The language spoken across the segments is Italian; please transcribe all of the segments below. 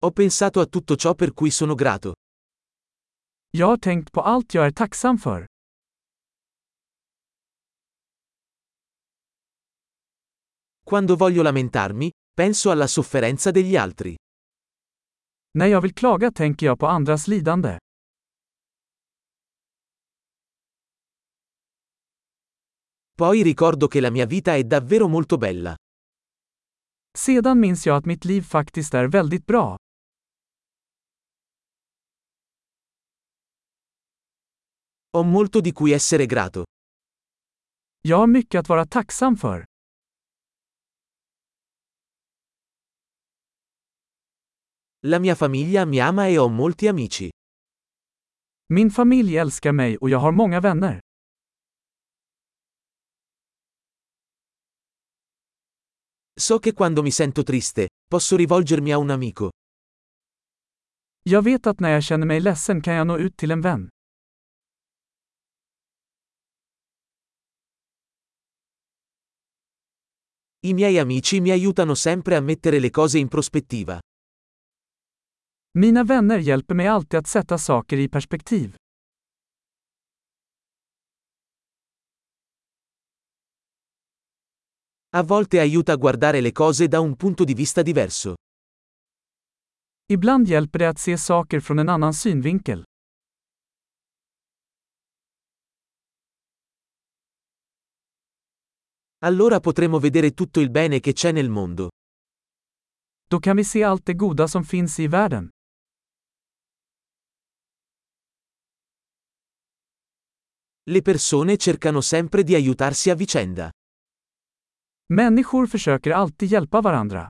Ho pensato a tutto ciò per cui sono grato. Jag har tänkt på allt jag är tacksam för. Quando voglio lamentarmi, penso alla sofferenza degli altri. När jag vill klaga tänker jag på andras lidande. Poi ricordo che la mia vita è davvero molto bella. Sedan minns jag att mitt liv faktiskt är väldigt bra. Ho molto di cui essere grato. Jag har mycket att vara tacksam för. La mia famiglia mi ama e ho molti amici. Min familj älskar mig och jag har många vänner. So che quando mi sento triste, posso rivolgermi a un amico. Jag vet att när jag känner mig ledsen kan jag nå ut till en vän. I miei amici mi aiutano sempre a mettere le cose in prospettiva. Mina vänner hjälper mig alltid att sätta saker i perspektiv. A volte aiuta a guardare le cose da un punto di vista diverso. Ibland hjälper det att se saker från en annan synvinkel. Allora potremo vedere tutto il bene che c'è nel mondo. Då kan vi se allt det goda som finns i världen. Le persone cercano sempre di aiutarsi a vicenda. Människor försöker alltid hjälpa varandra.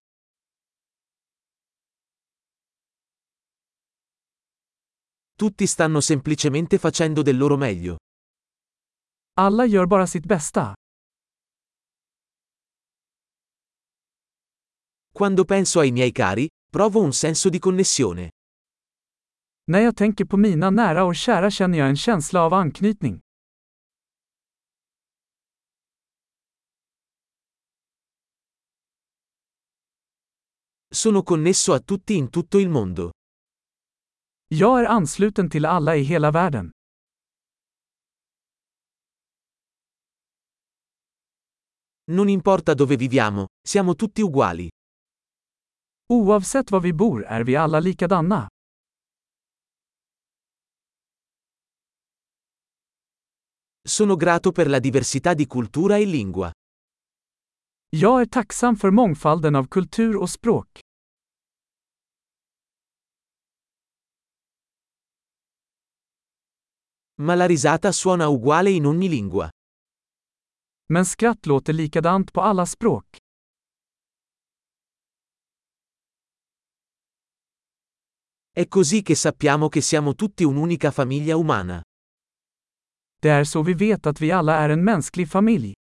Tutti stanno semplicemente facendo del loro meglio. Alla gör bara sitt bästa. Quando penso ai miei cari, provo un senso di connessione. När jag tänker på mina nära och kära känner jag en känsla av anknytning. Sono connesso a tutti in tutto il mondo. Jag är ansluten till alla i hela världen. Non importa dove viviamo, siamo tutti uguali. Oavsett var vi bor är vi alla likadana. Sono grato per la diversità di cultura e lingua. Jag är tacksam för mångfalden av kultur och språk. Ma la risata suona uguale in ogni lingua. Men skratt låter likadant på alla språk. È così che sappiamo che siamo tutti un'unica famiglia umana. Det är så vi vet att vi alla är en mänsklig familj.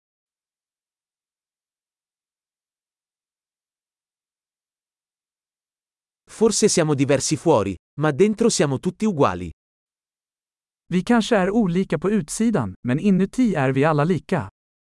Forse siamo diversi fuori, ma dentro siamo tutti uguali. Vi kanske är olika på utsidan, men inuti är vi alla lika.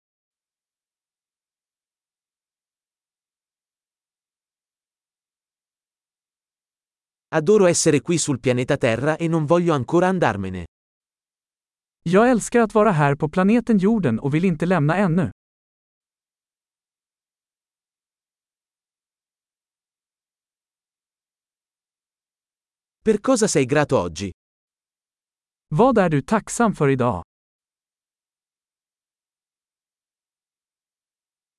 Adoro essere qui sul pianeta Terra e non voglio ancora andarmene. Jag älskar att vara här på planeten jorden och vill inte lämna ännu. Per cosa sei grato oggi? Vad är du tacksam för idag?